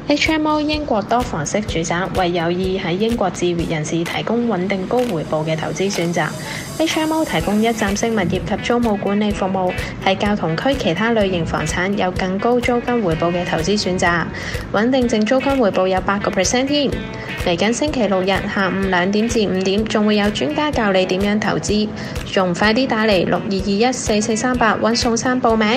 HMO 英國多房式住宅為有意喺英國置業人士提供穩定高回報嘅投資選擇。HMO 提供一站式物業及租務管理服務，係較同區其他類型房產有更高租金回報嘅投資選擇。穩定淨租金回報有8%添。嚟緊星期六日下午2點至5點，仲會有專家教你點樣投資，仲快啲打嚟62214438揾宋生報名。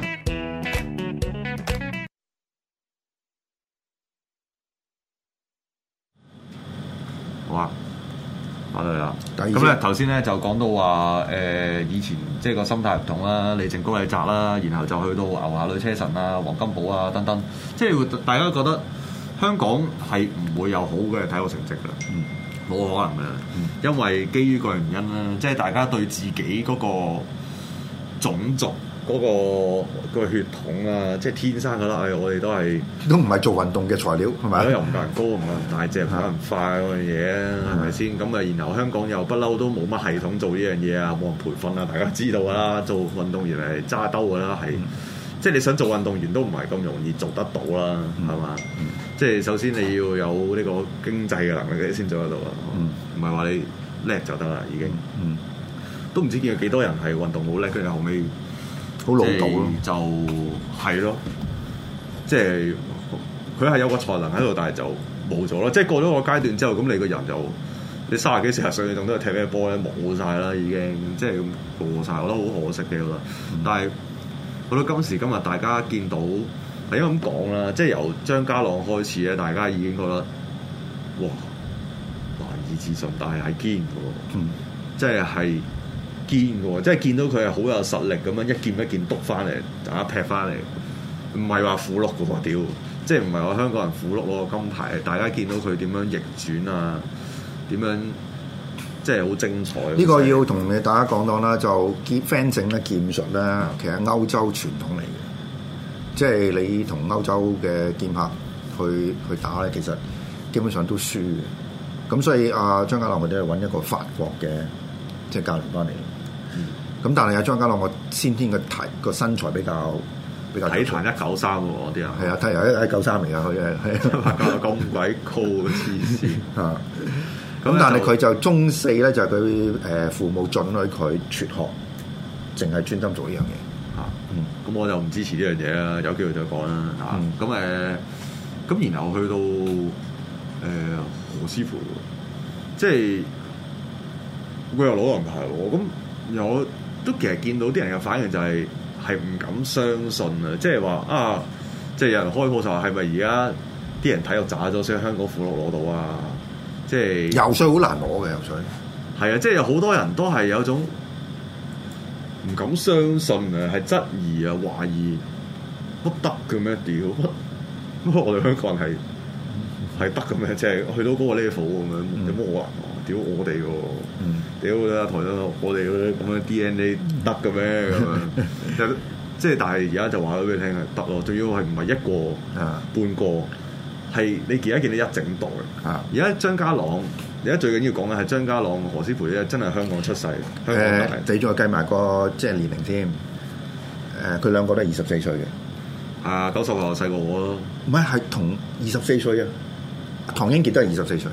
好啊，翻嚟啦。 咁咧頭先咧就講到話以前即係個心態唔同啦，李靜高李澤啦，然後就去到牛下女車神啊、黃金寶啊等等，即係大家覺得香港係唔會有好嘅體育成績㗎，冇可能㗎，因為基於個原因啦，即係大家對自己嗰個種族嗰個血統啊，即係天生覺得我哋都唔係做運動嘅材料，係咪？ 又唔夠人高，唔夠人大隻，唔夠人快嗰樣嘢啊，係咪先？咁啊，然後香港又不嬲都冇乜系統做呢樣嘢啊，冇人培訓啊，大家知道啦，做運動員係揸兜㗎啦，係即係你想做運動員都唔係咁容易做得到啦，係嘛？即係首先你要有呢個經濟嘅能力你先做得到啊，唔係話你叻就得啦，已經。都唔知見有幾多人係運動好叻，跟住後尾好老道咯， 就係咯，即係佢係有個才能喺度，但係就冇咗咯。即係過咗個階段之後，咁你個人就你30幾40歲，你仲都係踢咩波咧？冇晒啦，已經即係咁過晒，我覺得好可惜嘅，我覺得。但係到今時今日，大家見到係應該咁講啦，即係由張家朗開始咧，大家已經覺得哇難以置信，但係堅嘅喎，即係堅嘅喎，即係見到佢係好有實力咁樣一件一件篤翻嚟，大家劈翻嚟，唔係話苦碌嘅喎，屌！即係唔係話香港人苦碌攞個金牌，大家見到佢點樣逆轉啊，點樣即係好精彩。 呢個要同你大家講講啦，就fencing咧劍術咧，其實歐洲傳統嚟嘅，即係你同歐洲嘅劍客去打咧，其實基本上都輸嘅。咁所以張家朗佢都係揾一個法國嘅即係教練翻嚟。咁但係阿張家朗我先天嘅個身材比較體壇 193喎，啲人係啊，體壇193嚟㗎，佢係咁鬼高黐線啊！咁但係佢就中4咧，就係佢父母准許佢輟學，淨係專心做呢樣嘢嚇。 咁我就唔支持呢樣嘢啦，有機會再講啦嚇。咁然後去到何師傅，即係佢又攞銀牌喎，咁有。都其實見到啲人嘅反應就係唔敢相信啊！即係話即係有人開鋪就話係咪而家啲人體育渣咗，所以香港富碌攞到啊！即係游水好難攞嘅游水，係啊！即係有好多人都係有種唔敢相信啊，係質疑啊、懷疑乜得嘅咩？屌乜我哋香港人係得嘅咩？即係去到嗰個 level 咁樣，有乜可能？屌我哋喎！屌啦，台長，我哋嗰啲咁樣 DNA 得嘅咩咁樣？即係但係而家就話咗俾你聽係得咯，仲要係唔係一個半個，係你而家見到一整代。而家張家朗，而家最緊要講嘅係張家朗、何師培咧，真係香港出世，香港大。 你再計埋個即係年齡添，佢兩個都係24歲嘅。 90後細過我咯。 唔係同24歲啊，唐英傑都係24歲。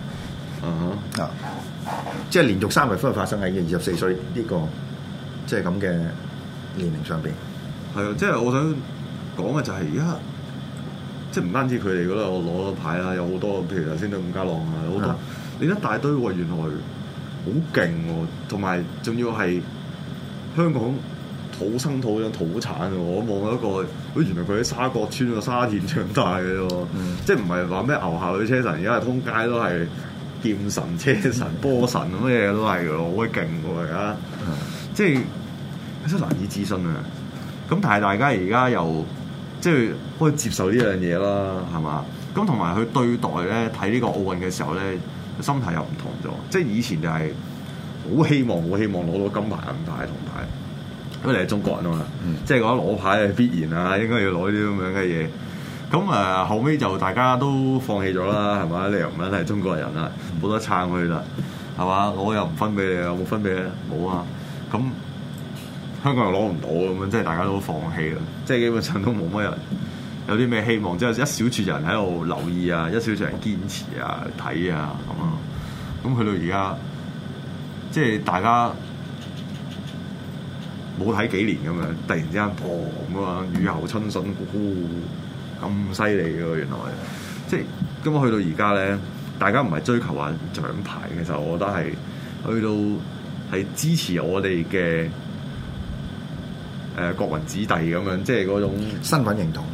即係連續3日都係發生喺24歲呢個即係咁嘅年齡上邊。 係啊，即係我想講嘅就係而家，即係唔單止佢哋嗰度攞咗牌啦，有好多譬如頭先都伍家朗啊，好多你一大堆喎，原來好勁喎，同埋仲要係香港土生土長土產喎。我望到一個，原來佢喺沙角村個沙田長大嘅喎，即係唔係話咩牛下女車神，而家係通街都係。劍神、車神、波神咁嘅嘢都係嘅咯，好鬼勁喎而家，即係真係難以置信啊！咁但係大家而家又即係可以接受呢樣嘢啦，係嘛？咁同埋佢對待咧睇呢個奧運嘅時候咧，心態又唔同咗。即係以前就係好希望攞到金牌、銀牌、銅牌，因為你係中國人啊嘛，即係覺得攞牌係必然啊，應該要攞啲咁樣嘅嘢。咁後尾就大家都放棄咗啦，係嘛？你又唔係中國人啦，冇得撐佢啦，係嘛？我又唔分俾你，有冇分俾你？冇啊！咁香港又攞唔到咁樣，即係大家都放棄啦，即係基本上都冇乜人有啲咩希望，即係一小撮人喺度留意啊，一小撮人堅持啊、睇啊咁啊。咁去到而家，即係大家冇睇幾年咁樣，突然之間咁啊，雨後春筍，咁犀利嘅喎，原來即係咁啊！去到而家咧，大家唔係追求話獎牌，其實我覺得係去到係支持我哋嘅國民子弟咁樣，即係嗰種身份認同。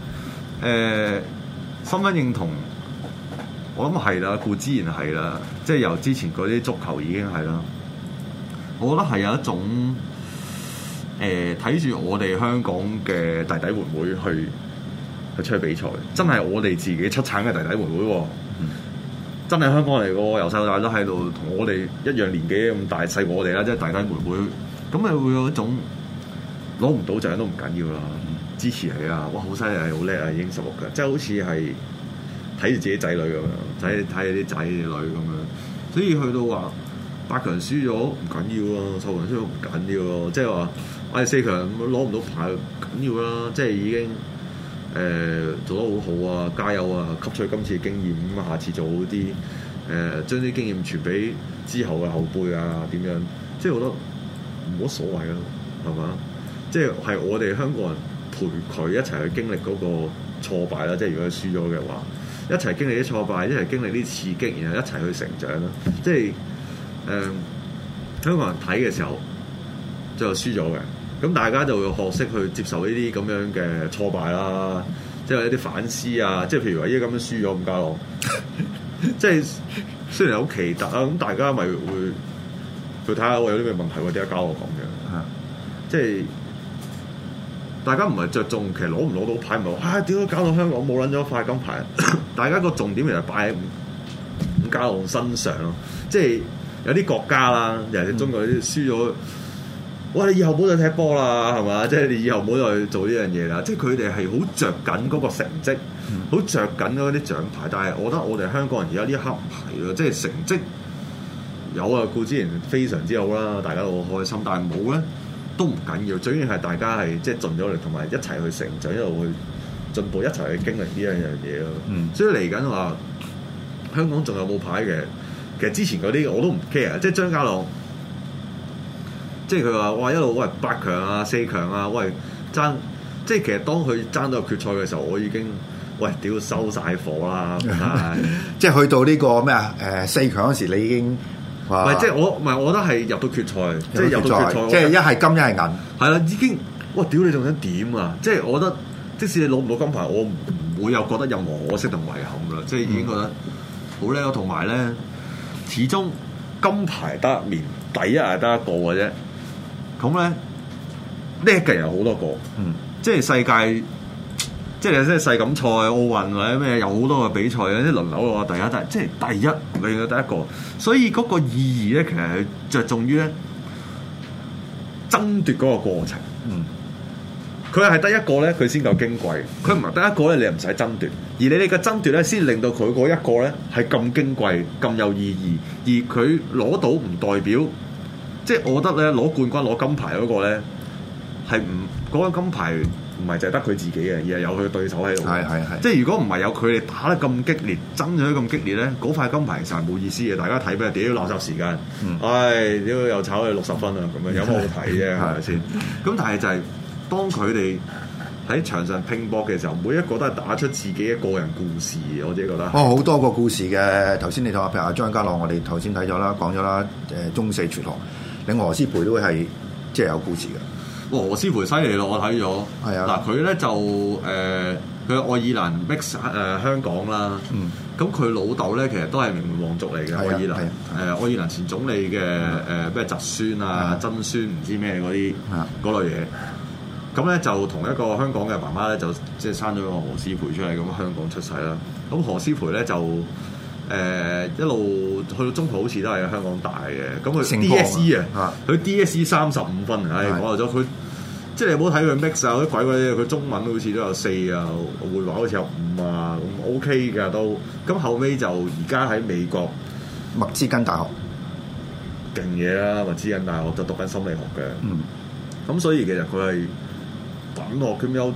身份認同，我諗係啦，固之然係啦，即係由之前嗰啲足球已經係啦。我覺得係有一種睇住我哋香港嘅弟弟妹妹去出去比賽，真係我哋自己出產嘅弟弟妹妹喎，真係香港嚟嘅喎，由細到大都喺度同我哋一樣年紀咁大，細過我哋啦，即係弟弟妹妹，咁咪會有一種攞唔到獎都唔緊要啦。支持你啊！哇，好犀利，好叻啊，已經16嘅，即係好似係睇住自己仔女咁樣，睇啲仔女咁樣。所以去到話8強輸咗唔緊要咯，10強輸咗唔緊要咯，即係話我哋4強攞唔到牌緊要啦，即係已經做得好好啊，加油啊，吸取今次嘅經驗，咁下次做好啲，將啲經驗傳俾之後嘅後輩啊，點樣？即係我覺得冇乜所謂咯，係嘛？即係我哋香港人。陪佢一齊去經歷嗰個挫敗啦，即係如果佢輸咗嘅話，一齊經歷啲挫敗，一齊經歷啲刺激，然後一齊去成長啦。即係香港人睇嘅時候，最後輸咗嘅，咁大家就會學識去接受呢啲咁樣嘅挫敗啦，即係一啲反思啊。即係譬如話依家咁樣輸咗伍家朗，即係雖然好奇特啊，咁大家咪會去睇下我有啲咩問題喎？點解搞我咁樣？即係。大家唔係着重其實攞唔攞到牌，唔係話點解搞到香港冇撚咗塊金牌？大家個重點其實擺喺伍家朗身上咯。即係有啲國家啦，尤其是中國啲輸咗，哇！你以後唔好再踢波啦，係嘛？即係你以後唔好再做呢樣嘢啦。即係佢哋係好着緊嗰個成績，好着緊嗰啲獎牌。但係我覺得我哋香港人而家呢一刻唔係咯，即係成績有啊，固之然非常之好啦，大家都好開心。但係冇咧。都唔緊要，最緊要係大家係即係盡咗力，同埋一齊去成長，一路去進步，一齊去經歷呢一樣嘢咯。所以嚟緊話香港仲有冇牌嘅？其實之前嗰啲我都唔 care，即係張家朗，即係佢話哇一路喂8強啊、4強啊，喂爭，即係其實當佢爭到決賽嘅時候，我已經喂屌收晒火啦， 即係去到呢個咩啊4強嗰時，你已經。 唔係，即係我覺得係入到決賽，即係入到決賽， 即係一係金一係銀，係啦，已經哇屌你仲想點啊！即係我覺得，即使你攞唔到金牌，我唔會有覺得任何可惜同遺憾啦，即係已經覺得好叻咯。同埋咧，始終金牌得一面，第一係得一個嘅啫。咁咧叻嘅人有好多個，即係世界。即係即係世錦賽、奧運或者咩有好多嘅比賽，有啲輪流嘅話，即係第一，永遠第一個。所以嗰個意義咧，其實係着重於咧爭奪嗰個過程。佢係得一個咧，佢先夠矜貴；佢唔係得一個咧，你唔使爭奪。而你哋嘅爭奪咧，先令到佢嗰一個咧係咁矜貴、咁有意義。而佢攞到唔代表，即係我覺得咧攞冠軍、攞金牌嗰個咧係唔嗰個金牌。唔係就係得佢自己嘅，而係有佢嘅對手喺度。係。即係如果唔係有佢哋打得咁激烈，爭咗咁激烈咧，嗰塊金牌其實係冇意思嘅。大家睇咩？屌垃圾時間，屌又炒佢60分啊！咁樣有乜好睇啫？係咪先？咁但係就係當佢哋喺場上拼搏嘅時候，每一個都係打出自己嘅個人故事。我自己覺得好多個故事嘅。頭先你睇下，譬如阿張家朗，我哋頭先睇咗啦，講咗啦，中四輟學，另外何詩蓓都係即係有故事嘅。 何詩蓓犀利咯，我睇咗。係啊，嗱佢咧就佢愛爾蘭 mix 香港啦。咁佢老豆咧其實都係名門望族嚟嘅，愛爾蘭。愛爾蘭前總理嘅咩侄孫啊、曾孫唔知咩嗰啲嗰類嘢。咁咧就同一個香港嘅媽媽咧就即係生咗個何詩蓓出嚟，咁香港出世啦。咁何詩蓓咧就一路去到中途好似都係香港大嘅。咁佢 DSE 啊，佢 DSE 35分，講咗佢。即係你唔好睇佢 mix 啊，啲鬼嘢，佢中文好似都有4啊，會話好似有5啊，咁 OK 㗎都。咁後尾就而家喺美國密芝根大學勁嘢啦，密芝根大學就讀緊心理學嘅。咁所以其實佢係品學兼優，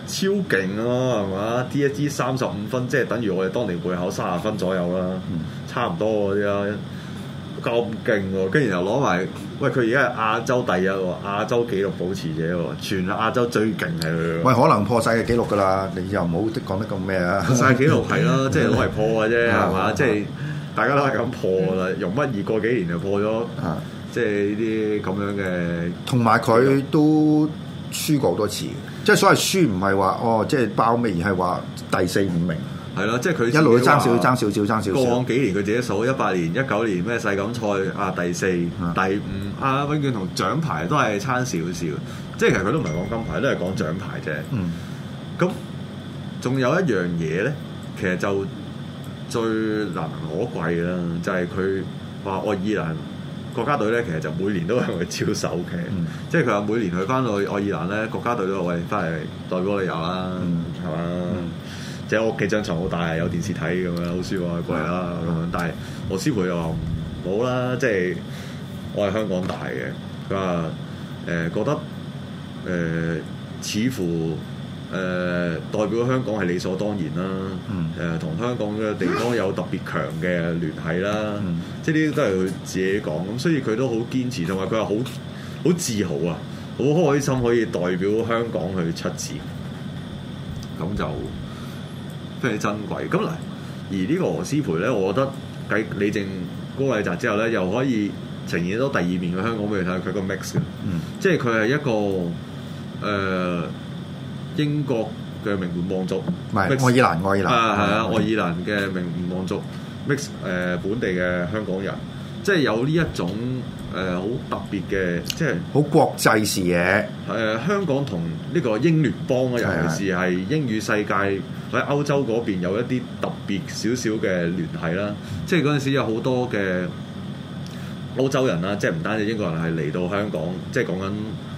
超勁咯，係嘛？DSE 35分，即係等於我哋當年會考30分左右啦，差唔多嗰啲啦，咁勁喎！跟住又攞埋，喂佢而家係亞洲第一喎，亞洲紀錄保持者喎，全亞洲最勁係佢。 喂，可能破晒嘅紀錄㗎啦，你又唔好講得咁咩啊？ 破晒紀錄係咯，即係攞嚟破嘅啫，係嘛？即係大家都係咁破啦，容乜易過幾年就破咗，即係呢啲咁樣嘅。同埋佢都輸過好多次，即係所謂輸唔係話哦，即係包尾，而係話第4、5名。 係咯，即係佢一路都爭少少。 過往幾年佢自己數18年、19年咩世錦賽啊第4、第5啊，永遠同獎牌都係差少少。即係其實佢都唔係講金牌，都係講獎牌啫。咁仲有一樣嘢咧，其實就最難能可貴啦，就係佢話愛爾蘭國家隊咧，其實就每年都係會招手嘅。即係佢話每年去翻去愛爾蘭咧，國家隊都話喂翻嚟代表你遊啦，係嘛？即係我屋企張床好大，有電視睇咁樣，好舒服啊，過嚟啦咁樣。但係我師傅又話冇啦，即係我係香港大嘅，佢話覺得似乎代表香港係理所當然啦。同香港嘅地方有特別強嘅聯繫啦。即係呢啲都係佢自己講咁，所以佢都好堅持，同埋佢話好自豪啊，好開心可以代表香港去出戰，咁就非常之珍貴。咁嗱，而呢個何詩蓓咧，我覺得繼李靜、高禮澤之後咧，又可以呈現到第2面嘅香港俾你睇，佢個 mix 嘅，即係佢係一個英國嘅名門望族， 唔係愛爾蘭係啊，愛爾蘭嘅名門望族 mix 本地嘅香港人，即係有呢一種好特別嘅，即係好國際視野。 香港同呢個英聯邦啊，尤其是係英語世界喺歐洲嗰邊有一啲特別少少嘅聯繫啦。即係嗰陣時有好多嘅歐洲人啦，即係唔單止英國人係嚟到香港，即係講緊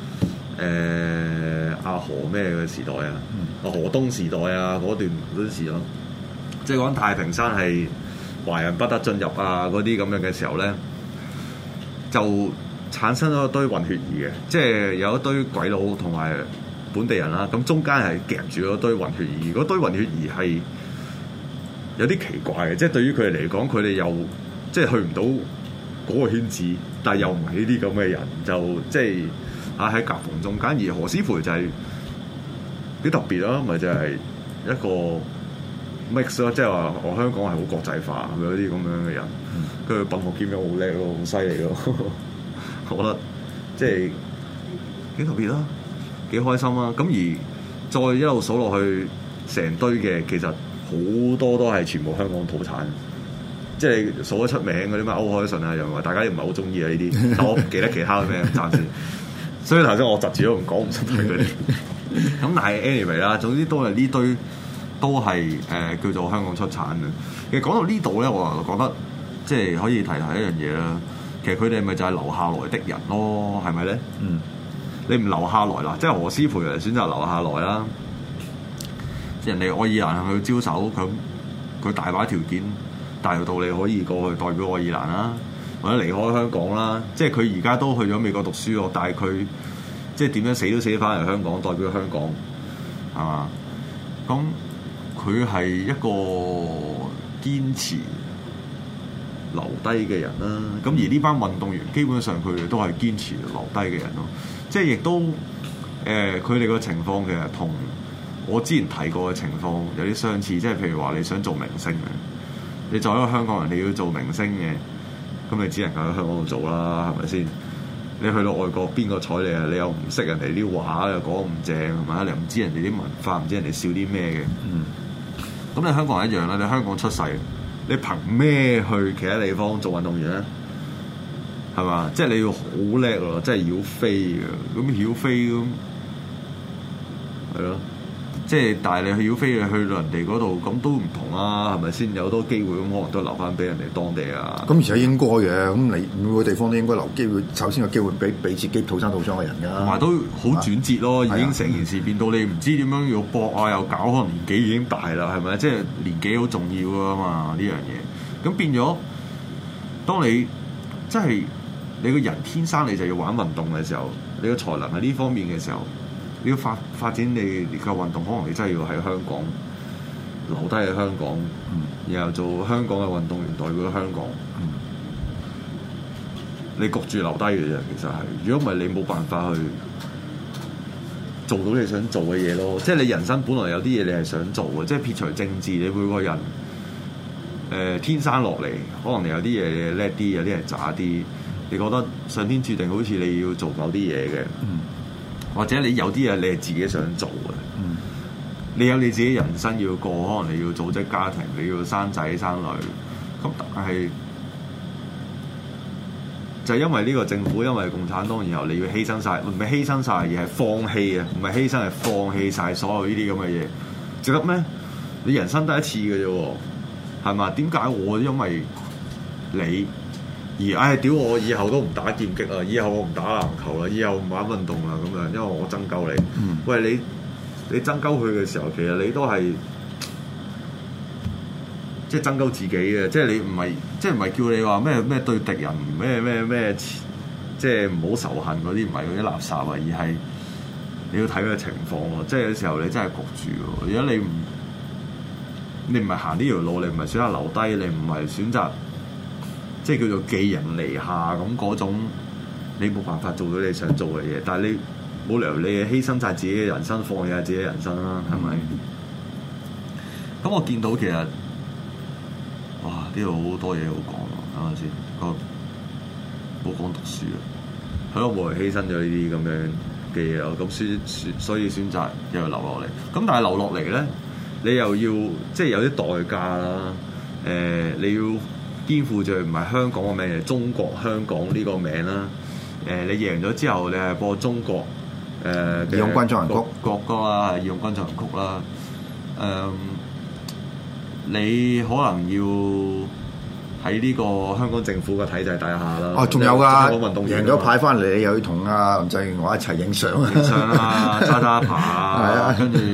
阿何咩嘅時代啊，阿何東時代啊嗰陣時咯，即係講太平山係華人不得進入啊嗰啲咁樣嘅時候咧，就產生咗一堆混血兒嘅，即係有一堆鬼佬同埋本地人啦，咁中間係夾住咗一堆混血兒，嗰堆混血兒係有啲奇怪嘅，即係對於佢哋嚟講，佢哋又即係去唔到嗰個圈子，但係又唔係呢啲咁嘅人，就即係喺夾縫中間。而何詩蓓就係幾特別咯，咪就係一個 mix 咯，即係話我香港係好國際化，係咪有啲咁樣嘅人？佢品學兼優好叻咯，好犀利咯，我覺得即係幾特別啦，幾開心啦。咁而再一路數落去，成堆嘅其實好多都係全部香港土產。即係數得出名嗰啲咩歐鎧淳啊，又話大家又唔係好中意啊呢啲，但我唔記得其他嘅咩暫時。所以頭先我窒住都唔講唔出佢哋。咁但係 anyway 啦，總之都係呢堆都係叫做香港出產嘅。其實講到呢度咧，我就覺得即係可以提一樣嘢啦。其實佢哋咪就係留下來的人咯，係咪咧？你唔留下來啦，即係何詩蓓人選擇留下來啦。人哋愛爾蘭去招手，佢大把條件。大有道理可以過去代表愛爾蘭啦，或者離開香港啦。即係佢而家都去咗美國讀書咯，但係佢即係點樣死都死翻嚟香港代表香港，係嘛？咁佢係一個堅持留低嘅人啦。咁而呢班運動員基本上佢哋都係堅持留低嘅人咯。即係亦都佢哋個情況其實同我之前提過嘅情況有啲相似。即係譬如話你想做明星嘅。你作為一個香港人，你要做明星嘅，咁你只能夠喺香港度做啦，係咪先？你去到外國，邊個睬你啊？你又唔識人哋啲話，又講唔正，係咪？你又唔知人哋啲文化，唔知人哋笑啲咩嘅。咁你香港人一樣啦，你香港出世，你憑咩去其他地方做運動員咧？係嘛？即係你要好叻咯，即係要飛嘅。咁要飛咁，係咯。即係，但係你去要飛去到人哋嗰度，咁都唔同啊，係咪先？有好多機會，咁可能都留翻俾人哋當地啊。咁而且應該嘅，咁你每個地方都應該留機會，首先有機會俾自己土生土長嘅人㗎。同埋都好轉折咯，已經成件事變到你唔知點樣要搏啊，又搞，可能年紀已經大啦，係咪？即係年紀好重要㗎嘛，呢樣嘢。咁變咗，當你即係你個人天生你就要玩運動嘅時候，你個才能喺呢方面嘅時候。 你要發展你嘅運動，可能你真係要喺香港留低喺香港，然後做香港嘅運動員代表香港。你焗住留低嘅啫，其實係。如果唔係，你冇辦法去做到你想做嘅嘢咯。即係你人生本來有啲嘢你係想做嘅，即係撇除政治，你每個人天生落嚟，可能你有啲嘢你叻啲，有啲係渣啲。你覺得上天注定好似你要做某啲嘢嘅，或者你有啲嘢你係自己想做嘅。你有你自己人生要過，可能你要組織家庭，你要生仔生女。咁但係就係因為呢個政府，因為共產黨，然後你要犧牲晒，唔係犧牲晒，而係放棄啊！唔係犧牲，係放棄晒所有呢啲咁嘅嘢，值得咩？你人生得一次嘅啫，係嘛？點解我因為你而屌我以後都唔打劍擊啊，以後我唔打籃球啦，以後唔玩運動啦咁樣，因為我憎鳩你。喂，你憎鳩佢嘅時候，其實你都係即係憎鳩自己嘅，即係你唔係叫你話咩對敵人咩，即係唔好仇恨嗰啲，唔係嗰啲垃圾啊，而係你要睇佢嘅情況喎。即係有時候你真係焗住喎。如果你唔係行呢條路，你唔係選擇留低，你唔係選擇即係叫做寄人籬下咁嗰種，你冇辦法做到你想做嘅嘢。但係你冇理由你犧牲晒自己嘅人生，放棄下自己嘅人生啦，係咪？咁我見到其實，哇！呢度好多嘢好講啊，啱啱先？冇講讀書啊，係咯，冇人犧牲咗呢啲咁樣嘅嘢咯。咁所以選擇又要留落嚟。咁但係留落嚟咧，你又要即係有啲代價啦。你要肩負住唔係香港嘅名，係中國香港呢個名啦。你贏咗之後，你係播中國義勇軍進行曲國歌啦，義勇軍進行曲啦。你可能要喺呢個香港政府嘅體制底下啦。哦，仲有㗎，贏咗牌翻嚟，你又要同阿林鄭月娥一齊影相啊！影相啊，揸爬啊，跟住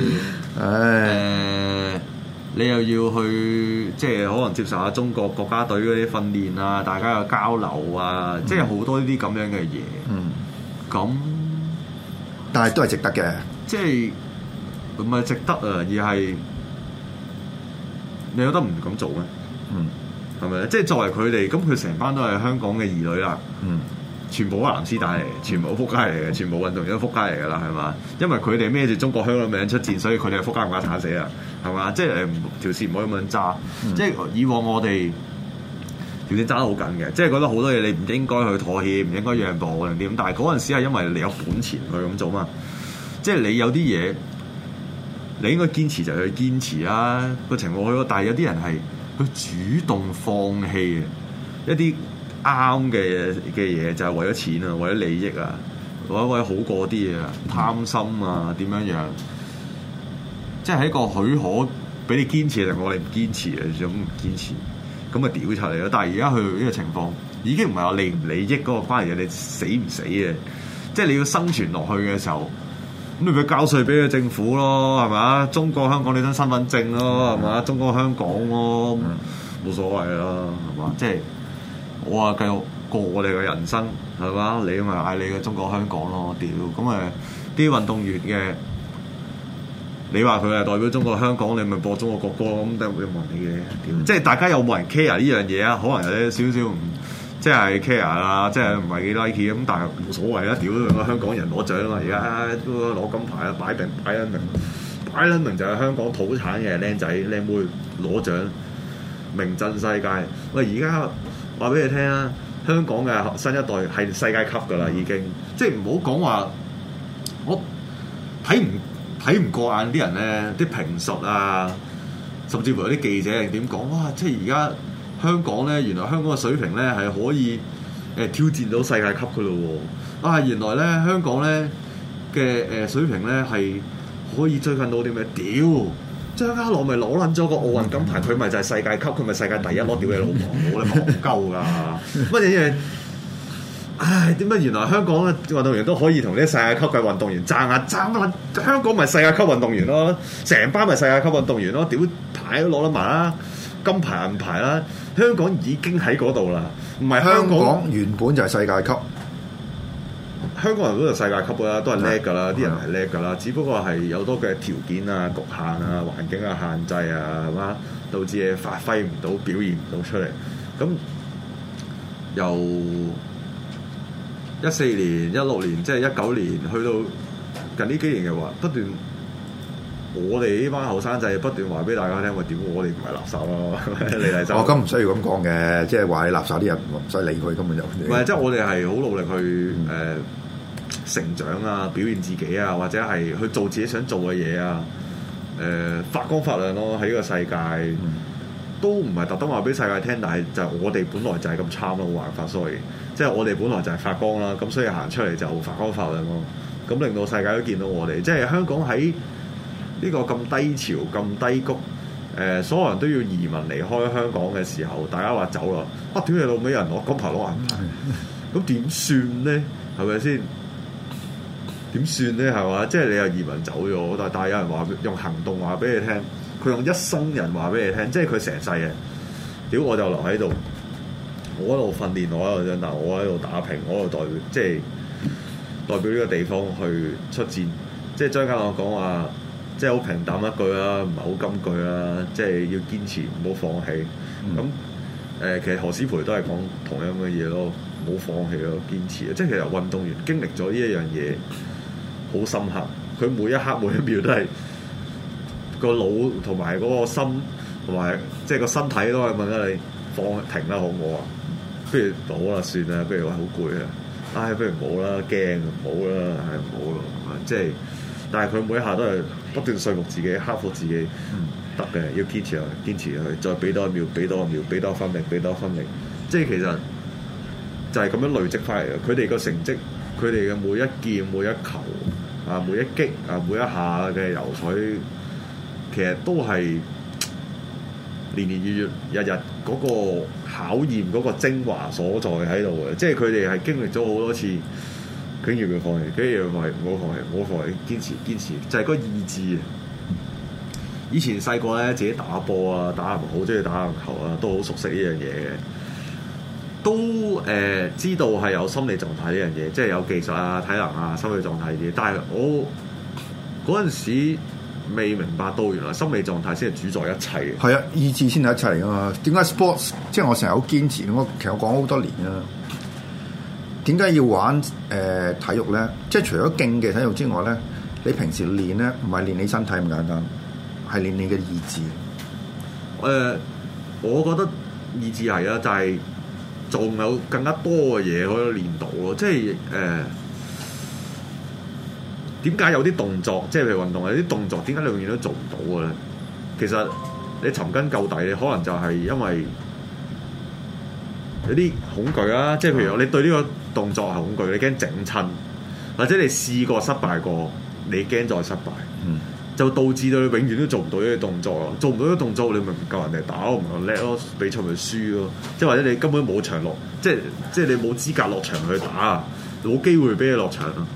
你又要去即係可能接受下中國國家隊嗰啲訓練啊，大家有交流啊，即係好多呢啲咁樣嘅嘢。咁但係都係值得嘅，即係唔係值得啊？而係你有得唔咁做咩？係咪咧？即係作為佢哋，咁佢成班都係香港嘅兒女啦。全部都係藍絲帶嚟嘅，全部都撲街嚟嘅，全部運動員都撲街嚟㗎啦，係嘛？因為佢哋孭住中國香港名出戰，所以佢哋係撲街唔家鏟死啊，係嘛？即係條線唔可以咁樣揸。即係以往我哋條線揸得好緊嘅，即係覺得好多嘢你唔應該去妥協，唔應該讓步定點。但係嗰陣時係因為你有本錢去咁做嘛。即係你有啲嘢，你應該堅持就去堅持啦。個情況去，但係有啲人係佢主動放棄一啲啱嘅嘢，就係為咗錢啊，為咗利益啊，或者為咗好過啲嘢啊，貪心啊，點樣樣？即係喺個許可俾你堅持，定我哋唔堅持啊？想唔堅持，咁咪屌出嚟咯！但係而家去呢個情況，已經唔係話利唔利益嗰個關係嘅，你死唔死嘅？即係你要生存落去嘅時候，咁你咪交稅俾個政府咯，係嘛？中國香港你張身份證咯，係嘛？中國香港咯，冇所謂啦，係嘛？即係。我話繼續過我哋嘅人生係嘛？你咪嗌你嘅中國香港咯，屌咁啲運動員嘅，你話佢係代表中國香港，你咪播中國國歌咁，都會問你嘅屌。即係大家有冇人 care 呢樣嘢啊？可能有啲少少唔即係 care 啦，即係唔係幾 like 咁，但係冇所謂啊！屌個香港人攞獎啊嘛，而家都攞金牌啊，擺撚明就係香港土產嘅僆仔僆妹攞獎，名震世界。喂，而家話俾你聽啊！香港嘅新一代係世界級㗎啦，已經即係唔好講話，我睇唔過眼啲人咧，啲評述啊，甚至乎有啲記者係點講哇！即係而家香港咧，原來香港嘅水平咧係可以挑戰到世界級㗎咯喎！啊，原來咧香港咧嘅水平咧係可以追近到啲咩？屌！張家朗咪攞撚咗個奧運金牌，佢咪就係世界級，佢咪世界第一攞，屌你老母，冇你戇鳩㗎！乜嘢？唉，點解原來香港嘅運動員都可以同啲世界級嘅運動員爭啊？爭乜撚？香港咪世界級運動員咯，成班咪世界級運動員咯，屌牌都攞得埋啦，金牌銀牌啦，香港已經喺嗰度啦，唔係香港原本就係世界級。 香港人都係世界級㗎啦，都係叻㗎啦，啲人係叻㗎啦，只不過係有多嘅條件啊、局限啊、環境啊、限制啊，係嘛，導致你發揮唔到、表現唔到出嚟。咁由14年、16年，即係19年，去到近呢幾年嘅話，不斷我哋呢班後生仔不斷話俾大家聽，喂，點我哋唔係垃圾咯？你嚟就咁唔需要咁講嘅，即係話你垃圾啲人唔使理佢，根本就唔係，即係我哋係好努力去成長啊，表現自己啊，或者係去做自己想做嘅嘢啊，發光發亮咯！喺呢個世界，都唔係特登話俾世界聽，但係就我哋本來就係咁差咯，冇辦法，所以即係我哋本來就係發光啦，咁所以行出嚟就發光發亮咯，咁令到世界都見到我哋，即係香港喺呢個咁低潮、咁低谷，所有人都要移民離開香港嘅時候，大家話走啦，屌你老味人攞金牌攞銀牌，咁點算咧？係咪先？點算咧？係嘛？即係你又移民走咗，但係有人話用行動話俾你聽，佢用一生人話俾你聽，即係佢成世嘅。屌我就留喺度，我喺度訓練，我喺度但我喺度打拼，我喺度代表，即係代表呢個地方去出戰。即係張家朗講話，即係好平淡一句啦，唔係好金句啦，即係要堅持，唔好放棄。咁其實何詩蓓都係講同樣嘅嘢咯，唔好放棄咯，堅持。即係其實運動員經歷咗呢一樣嘢。好深刻，佢每一刻每一秒都係個腦同埋嗰個心同埋即係個身體都係問緊你放停啦，好唔好啊？不如好啦，算啦，不如話好攰啊，唉，不如唔好啦，驚唔好啦，係唔好咯，即係，但係佢每一下都係不斷說服自己，克服自己，得嘅，要堅持落去，堅持落去，再俾多一秒，俾多一秒，俾多分力，俾多分力，即係其實就係咁樣累積翻嚟嘅。佢哋個成績，佢哋嘅每一劍、每一球。啊！每一擊啊，每一下嘅游水，其實都係年年月月、日日嗰個考驗嗰個精華所在喺度嘅。即係佢哋係經歷咗好多次，竟然要放棄，竟然要放棄，唔好放棄，唔好放棄，堅持堅持，就係嗰個意志。以前細個咧，自己打波啊，打籃好中意打籃球啊，都好熟悉呢樣嘢嘅。都知道係有心理狀態呢樣嘢，即係有技術啊、體能啊、心理狀態嘅嘢。但係我嗰陣時未明白到，原來心理狀態先係主宰一切嘅。 係啊，意志先係一切嚟噶嘛。點解 sports 即係我成日好堅持？其實我講好多年啦。點解要玩體育咧？即係除咗競技體育之外咧，你平時練咧唔係練你身體咁簡單，係練你嘅意志。 我覺得意志係啊，就係、是。仲有更加多嘅嘢可以練到咯，即係點解有啲動作，即係譬如運動有啲動作，點解你永遠都做唔到嘅咧？其實你尋根究底，你可能就係因為有啲恐懼啦，即係譬如你對呢個動作係恐懼，你驚整親，或者你試過失敗過，你驚再失敗。就導致到你永遠都做唔到呢啲動作咯，做唔到呢啲動作，你咪唔夠人哋打，唔夠叻咯，比賽咪輸咯。即係或者你根本冇場落，即係你冇資格落場去打，冇機會俾你落場咯。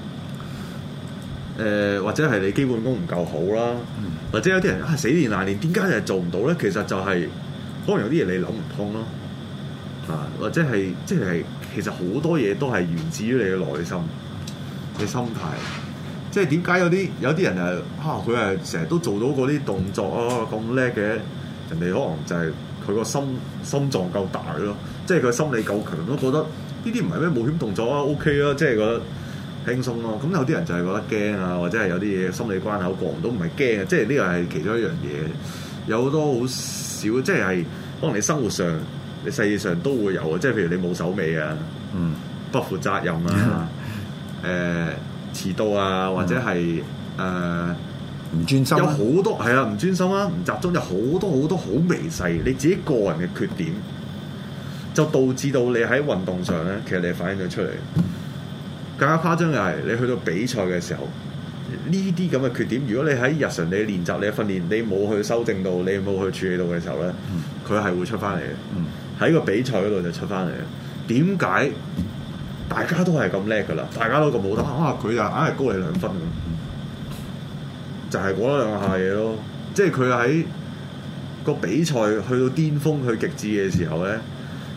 或者係你基本功唔夠好啦，或者有啲人死練爛練，點解又做唔到咧？其實就係可能有啲嘢你諗唔通咯，或者係即係其實好多嘢都係源自於你嘅內心嘅心態。即係點解有啲人佢係成日都做到嗰啲動作啊咁叻嘅，人哋可能就係佢個心臟夠大咯，即係佢心理夠強咯，覺得呢啲唔係咩冒險動作啊 OK 啊，即係覺得輕鬆咯。咁有啲人就係覺得驚啊，或者係有啲嘢心理關口過唔到，唔係驚啊，即係呢個係其中一樣嘢。有好多好少，即係可能你生活上、你世界上都會有啊，即係譬如你冇手尾啊，不負責任啊，遲到啊，或者係唔專心， 有好多係啊，唔專心啊，唔集中，有好多好微細你自己個人嘅缺點，就導致到你喺運動上咧，其實你反映咗出嚟。更加誇張嘅係，你去到比賽嘅時候，呢啲咁嘅缺點，如果你喺日常你練習、你訓練，你冇去修正到，你冇去處理到嘅時候咧，佢係會出翻嚟嘅。喺個比賽嗰度就出翻嚟嘅。點解？大家都係咁叻噶啦，大家都咁好得佢就硬係高你2分咁，就係嗰兩下嘢咯。即係佢喺個比賽去到巔峰、去極致嘅時候咧，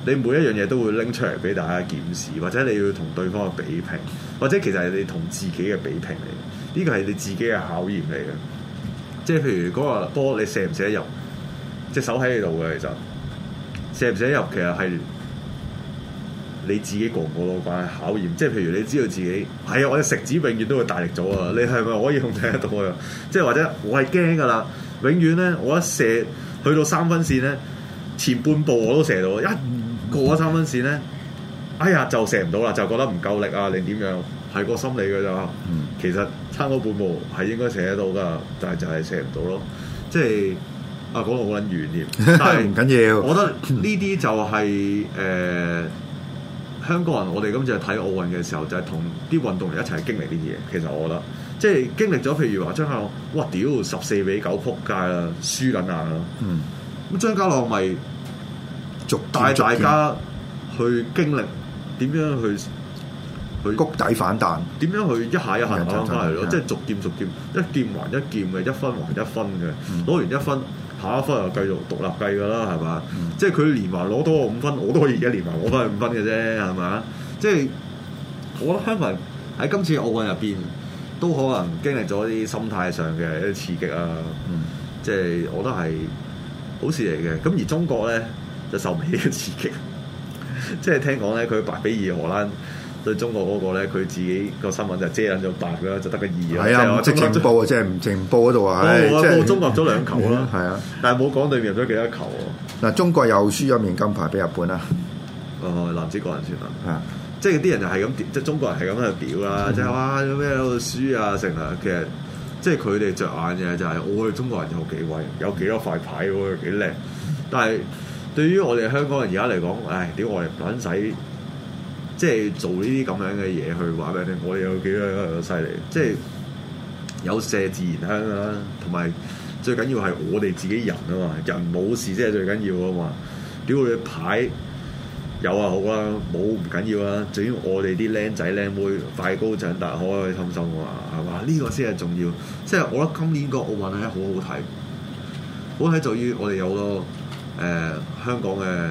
你每一樣嘢都會拎出嚟俾大家檢視，或者你要同對方嘅比拼，或者其實係你同自己嘅比拼嚟，呢個係你自己嘅考驗嚟嘅。即係譬如嗰個波你射唔射得入，隻手喺你度嘅，其實射唔射得入其實係你自己過唔過到關係考驗。即係譬如你知道自己係啊，我隻食指永遠都會大力咗啊，你係咪可以控制得到啊？即係或者我係驚㗎啦，永遠咧我一射去到3分線咧，前半步我都射到，一過咗3分線咧，哎呀就射唔到啦，就覺得唔夠力啊，定點樣？係個心理㗎咋。其實差嗰半步係應該射得到㗎，但係就係射唔到咯。即係啊，講到好撚遠添，但係唔緊要。 我覺得呢啲就係香港人，我哋今次睇奧運嘅時候，就係同啲運動員一齊經歷呢啲嘢。其實我覺得，即係經歷咗，譬如話張家朗，哇屌14比9撲街啦，輸緊硬啦。咁張家朗咪帶大家去經歷點樣去谷底反彈， 點樣去一下一下攞翻嚟咯？即係逐漸一劍還一劍嘅，一分還一分嘅。攞完一分，下一分又繼續獨立計㗎啦，係嘛？即係佢連環攞多我5分，我都可以而家連環攞翻去5分嘅啫，係嘛？即係我覺得香港人喺今次奧運入邊都可能經歷咗啲心態上嘅一啲刺激啊。即係我覺得係好事嚟嘅。咁而中國咧就受唔起嘅刺激，即係聽講咧佢8比2荷蘭對中國嗰個咧，佢自己個新聞就遮緊咗8啦，就得個2啦。 係啊，唔直情報啊，即係唔直報嗰度啊。 報中國入咗2球啦。 係啊， 但係冇講對面入咗幾多球喎。 嗱，中國又輸咗面金牌俾日本啦。 男子個人算啦。即係啲人就係咁，即係中國人係咁喺度屌啦，即係哇有咩喺度輸啊成啊。其實即係佢哋着眼嘅就係我哋中國人有幾威，有幾多塊牌喎，幾靚。但係對於我哋香港人而家嚟講，唉，屌我哋唔撚使。即係做呢啲咁樣嘅嘢去話俾你聽，我哋有幾多犀利？即係有麝自然香啦，同埋最緊要係我哋自己人啊嘛，人冇事先係最緊要啊嘛。屌你牌有啊好啦，冇唔緊要啦，最緊要我哋啲僆仔僆妹快高長大，開開心心啊嘛，係嘛？呢個先係重要。即係我覺得今年個奧運係好好睇，好睇在於我哋有好多香港嘅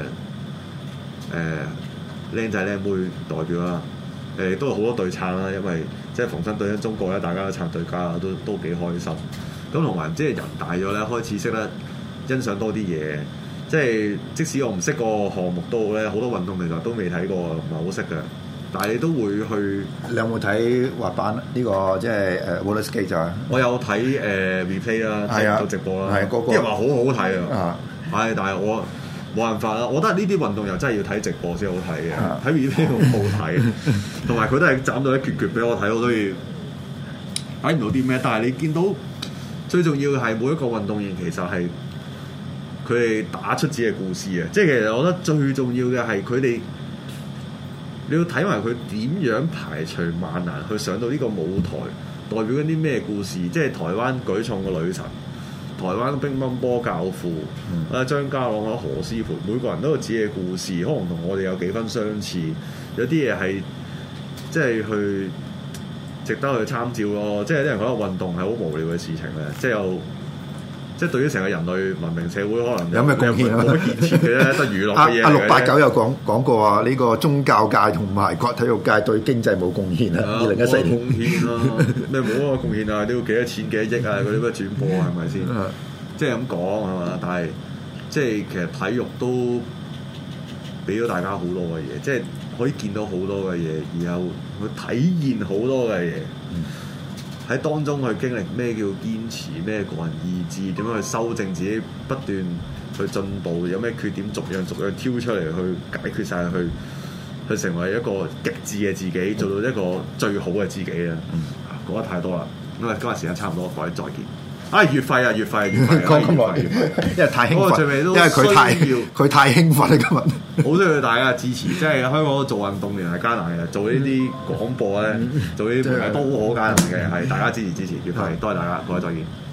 僆仔僆妹代表啦，都有好多對撐啦，因為即係逢親對親中國咧，大家都撐對家，都幾開心。咁同埋即係人大咗咧，開始識得欣賞多啲嘢。即係即使我唔識個項目都好咧，好多運動其實都未睇過，唔係好識嘅。但係你都會去。 你有冇睇滑板呢個即係roller skate 啊？ 我有睇replay 啦，睇直播啦，啲人話好好睇啊！係，但係我冇辦法啦。我覺得呢啲運動又真係要睇直播先好睇嘅，睇 replay 好好睇。同埋佢都係斬到一決決俾我睇，我都要睇唔到啲咩。但係你見到最重要嘅係每一個運動員其實係佢哋打出自己嘅故事啊！即係其實我覺得最重要嘅係佢哋。你要睇埋佢點樣排除萬難去上到呢個舞台，代表緊啲咩故事？即係台灣舉重嘅女神，台灣乒乓波教父，張家朗啊、何詩蓓，每個人都有自己嘅故事，可能同我哋有幾分相似。有啲嘢係即係去值得去參照咯。即係啲人覺得運動係好無聊嘅事情咧，即係對於成個人類文明社會可能有咩貢獻啊？ 冇建設嘅咧，得娛樂嘅嘢。 阿689有講過啊，呢個宗教界同埋個體育界對經濟冇貢獻啊。2014年貢獻咯，咩冇啊貢獻啊？都要幾多錢幾多億啊？嗰啲咩轉播係咪先？即係咁講係嘛？但係即係其實體育都俾咗大家好多嘅嘢，即係可以見到好多嘅嘢，然後去體驗好多嘅嘢。喺當中去經歷咩叫堅持，咩個人意志，點樣去修正自己，不斷去進步，有咩缺點逐樣挑出嚟去解決晒，去成為一個極致嘅自己，做到一個最好嘅自己啊！講得太多啦，因為今日時間差唔多，各位再見。月費啊，講咁耐， 因為太興奮， 最尾都因為佢太興奮啦，今日好需要大家支持。即係香港做運動員係艱難嘅，做呢啲廣播咧，做呢啲媒體都好艱難嘅，係大家支持月費，多謝大家，各位再見。